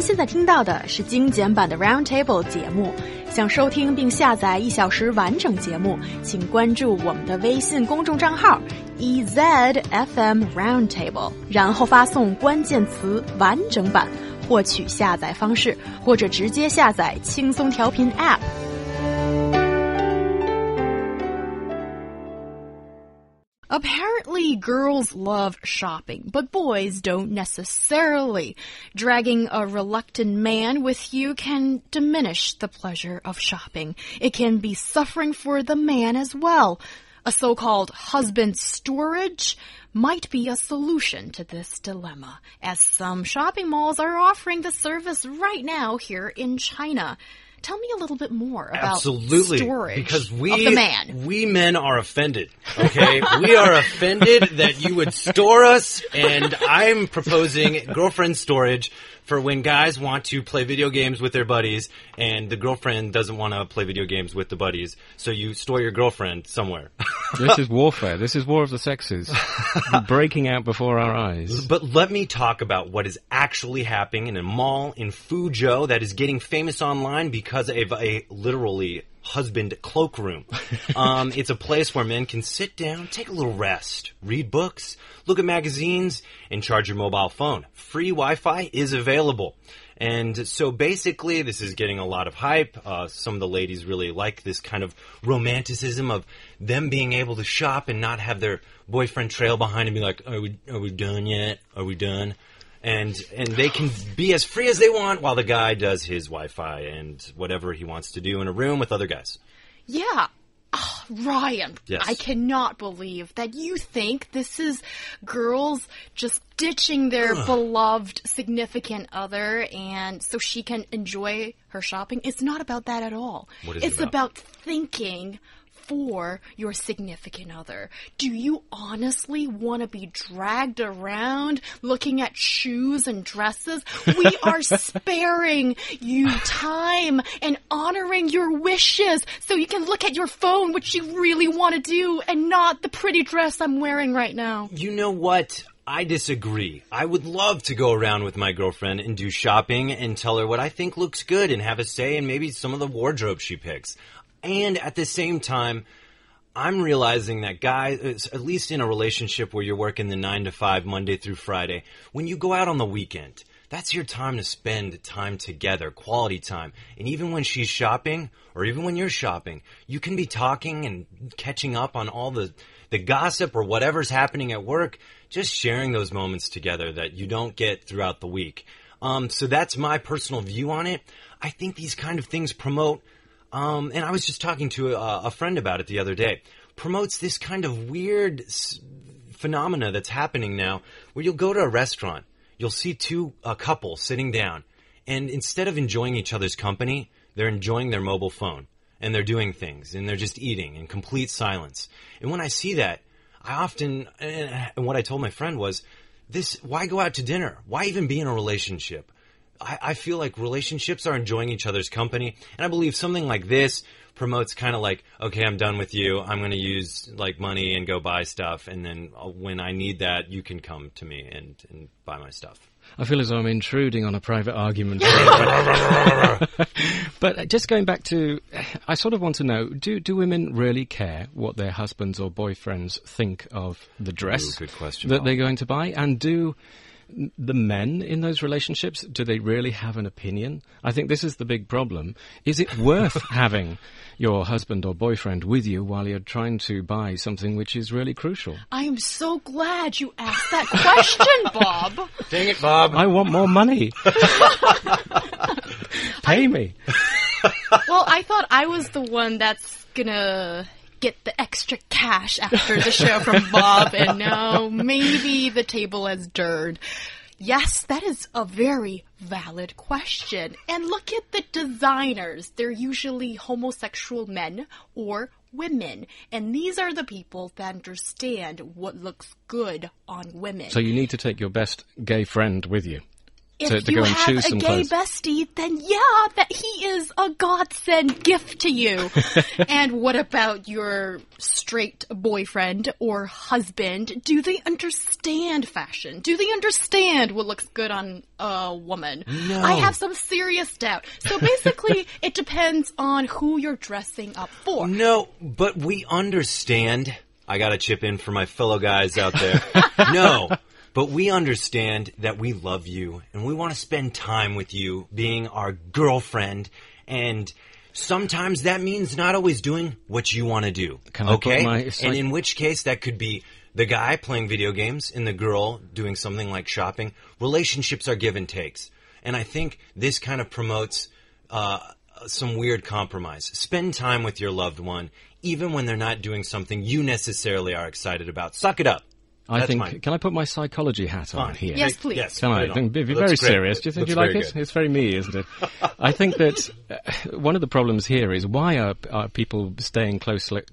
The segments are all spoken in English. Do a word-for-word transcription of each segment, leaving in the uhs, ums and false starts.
现在听到的是精简版的 Roundtable 节目。想收听并下载一小时完整节目，请关注我们的微信公众账号 E Z F M Roundtable， 然后发送关键词完整版获取下载方式，或者直接下载轻松调频 App。Apparently, girls love shopping, but boys don't necessarily. Dragging a reluctant man with you can diminish the pleasure of shopping. It can be suffering for the man as well. A so-called husband storage might be a solution to this dilemma, as some shopping malls are offering the service right now here in China.Tell me a little bit more about Absolutely, storage because we, of the man. We men are offended, okay? We are offended that you would store us, and I'm proposing girlfriend storage for when guys want to play video games with their buddies, and the girlfriend doesn't want to play video games with the buddies, so you store your girlfriend somewhere. This is warfare. This is war of the sexes. Breaking out before our eyes. But let me talk about what is actually happening in a mall in Fuzhou that is getting famous online because of a literally husband cloakroom. Um, it's a place where men can sit down, take a little rest, read books, look at magazines, and charge your mobile phone. Free Wi-Fi is available. And so basically, this is getting a lot of hype. Uh, some of the ladies really like this kind of romanticism of them being able to shop and not have their boyfriend trail behind and be like, are we, are we done yet? Are we done? And and they can be as free as they want while the guy does his Wi-Fi and whatever he wants to do in a room with other guys. Yeah. Oh, Ryan, yes. I cannot believe that you think this is girls just ditching their Ugh. beloved significant other and so she can enjoy her shopping. It's not about that at all. What is it's it about? about thinking for your significant other. Do you honestly want to be dragged around looking at shoes and dresses? We are sparing you time and honoring your wishes so you can look at your phone, which you really want to do, and not the pretty dress I'm wearing right now. You know what? I disagree. I would love to go around with my girlfriend and do shopping and tell her what I think looks good and have a say in maybe some of the wardrobe she picks. And at the same time, I'm realizing that guys, at least in a relationship where you're working the nine to five, Monday through Friday, when you go out on the weekend, that's your time to spend time together, quality time. And even when she's shopping, or even when you're shopping, you can be talking and catching up on all the, the gossip or whatever's happening at work, just sharing those moments together that you don't get throughout the week. Um, so that's my personal view on it. I think these kind of things promote Um, and I was just talking to a, a friend about it the other day, promotes this kind of weird s- phenomena that's happening now where you'll go to a restaurant, you'll see two, a couple sitting down, and instead of enjoying each other's company, they're enjoying their mobile phone, and they're doing things, and they're just eating in complete silence. And when I see that, I often, and what I told my friend was, this, why go out to dinner? Why even be in a relationship? I, I feel like relationships are enjoying each other's company, and I believe something like this promotes kind of like, okay, I'm done with you. I'm going to use like money and go buy stuff, and then when I need that, you can come to me and, and buy my stuff. I feel as though I'm intruding on a private argument. But just going back to, I sort of want to know, do do women really care what their husbands or boyfriends think of the dress Ooh, good question, that Bob. they're going to buy? And do the men in those relationships, do they really have an opinion? I think this is the big problem. Is it worth having your husband or boyfriend with you while you're trying to buy something which is really crucial? I am so glad you asked that question, Bob. Dang it, Bob. I want more money. Pay me. Well, I thought I was the one that's gonna get the extra cash after the show from Bob, and no, maybe the table has turned. Yes, that is a very valid question. And look at the designers. They're usually homosexual men or women. And these are the people that understand what looks good on women. So you need to take your best gay friend with you. if to, to you go and have choose a some gay clothes. bestie, then yeah, that he is a godsend gift to you. And what about your straight boyfriend or husband? Do they understand fashion? Do they understand what looks good on a woman? No. I have some serious doubt. So basically, it depends on who you're dressing up for. No, but we understand. I gotta chip in for my fellow guys out there. No, but we understand that we love you and we want to spend time with you being our girlfriend, and sometimes that means not always doing what you want to do. Can I put okay? my- And in which case that could be the guy playing video games and the girl doing something like shopping. Relationships are give and takes. And I think this kind of promotes uh, some weird compromise. Spend time with your loved one, even when they're not doing something you necessarily are excited about. Suck it up. I That's think. mine. Can I put my psychology hat on Fine. here? Yes, please. Yes, Can put I? it on. Be, be Looks very great. serious. Do you think Looks you like very it? good. It's very me, isn't it? I think that uh, one of the problems here is why are, are people staying closely,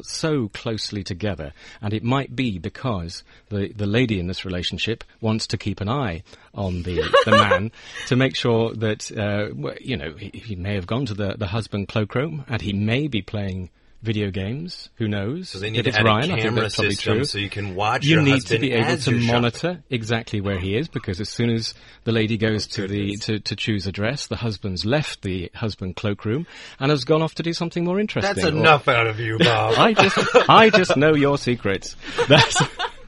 so closely together? And it might be because the, the lady in this relationship wants to keep an eye on the, the man to make sure that, uh, w- you know, he, he may have gone to the, the husband cloakroom and he may be playing video games. Who knows? So they need If to it's add Ryan, a I think camera that's probably system true. so you can watch You your need husband to be able as to you're shopping. monitor exactly where he is, because as soon as the lady goes to the goodness. to, to choose a dress, the husband's left the husband cloakroom and has gone off to do something more interesting. That's Or- enough out of you, Bob. I just I just know your secrets. That's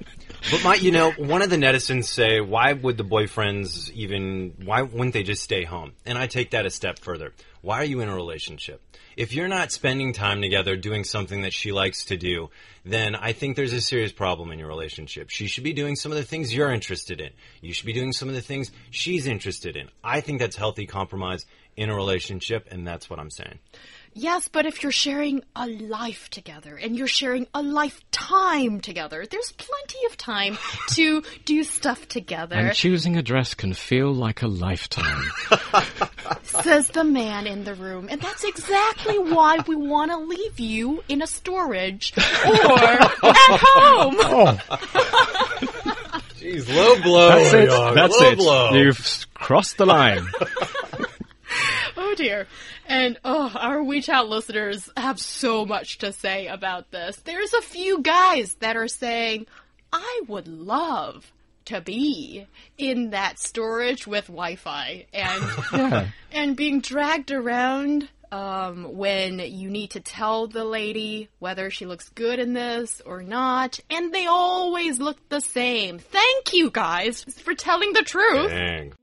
But my, you know, one of the netizens say, why would the boyfriends even, why wouldn't they just stay home? And I take that a step further. Why are you in a relationship? If you're not spending time together doing something that she likes to do, then I think there's a serious problem in your relationship. She should be doing some of the things you're interested in. You should be doing some of the things she's interested in. I think that's healthy compromise in a relationship, and that's what I'm saying. Yes, but if you're sharing a life together and you're sharing a lifetime together, there's plenty of time to do stuff together, and choosing a dress can feel like a lifetime. says the man in the room. And that's exactly why we want to leave you in a storage or at home. Jeez, low blow. That's it. dog. That's low it. blow. You've s- crossed the line. Oh dear. And oh, our WeChat listeners have so much to say about this. There's a few guys that are saying, I would love to be in that storage with Wi-Fi and Yeah. and being dragged around um, when you need to tell the lady whether she looks good in this or not, and they always look the same. Thank you guys for telling the truth. Dang.